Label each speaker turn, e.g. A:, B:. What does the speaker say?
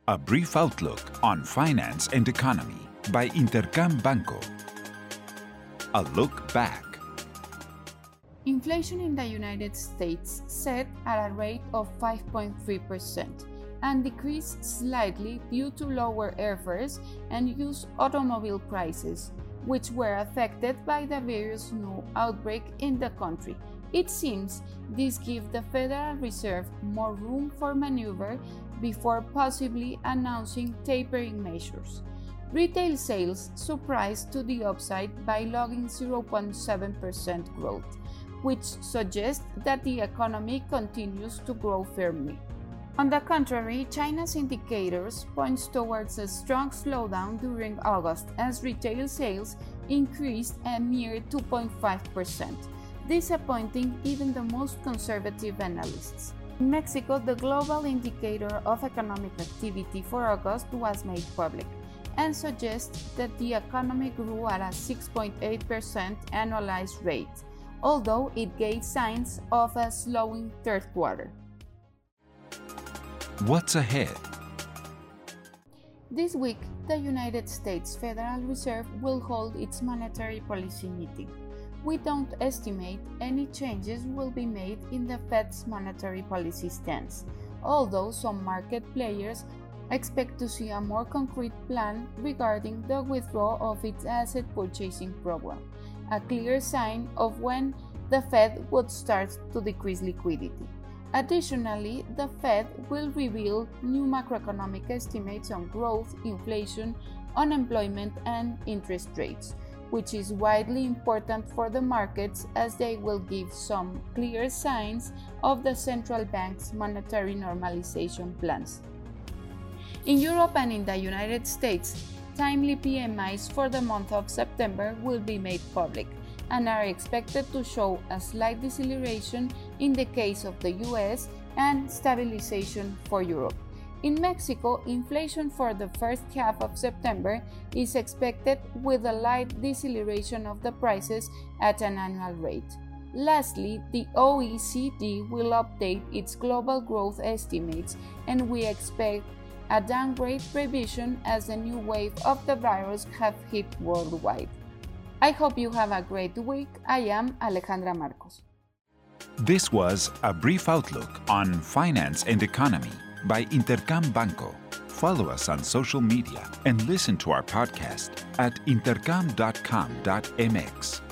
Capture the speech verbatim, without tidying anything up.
A: A brief outlook on finance and economy by Intercam Banco. A look back.
B: Inflation in the United States set at a rate of five point three percent and decreased slightly due to lower airfares and used automobile prices, which were affected by the various new outbreaks in the country. It seems this gives the Federal Reserve more room for maneuver before possibly announcing tapering measures. Retail sales surprised to the upside by logging zero point seven percent growth, which suggests that the economy continues to grow firmly. On the contrary, China's indicators point towards a strong slowdown during August as retail sales increased a mere two point five percent, disappointing even the most conservative analysts. In Mexico, the global indicator of economic activity for August was made public and suggests that the economy grew at a six point eight percent annualized rate, although it gave signs of a slowing third quarter.
A: What's ahead?
B: This week, the United States Federal Reserve will hold its monetary policy meeting. We don't estimate any changes will be made in the Fed's monetary policy stance, although some market players expect to see a more concrete plan regarding the withdrawal of its asset purchasing program, a clear sign of when the Fed would start to decrease liquidity. Additionally, the Fed will reveal new macroeconomic estimates on growth, inflation, unemployment, and interest rates, which is widely important for the markets as they will give some clear signs of the central bank's monetary normalization plans. In Europe and in the United States, timely P M Is for the month of September will be made public and are expected to show a slight deceleration in the case of the U S and stabilization for Europe. In Mexico, inflation for the first half of September is expected with a light deceleration of the prices at an annual rate. Lastly, the O E C D will update its global growth estimates, and we expect a downgrade revision as the new wave of the virus have hit worldwide. I hope you have a great week. I am Alejandra Marcos.
A: This was a brief outlook on finance and economy by Intercam Banco. Follow us on social media and listen to our podcast at intercam dot com dot m x.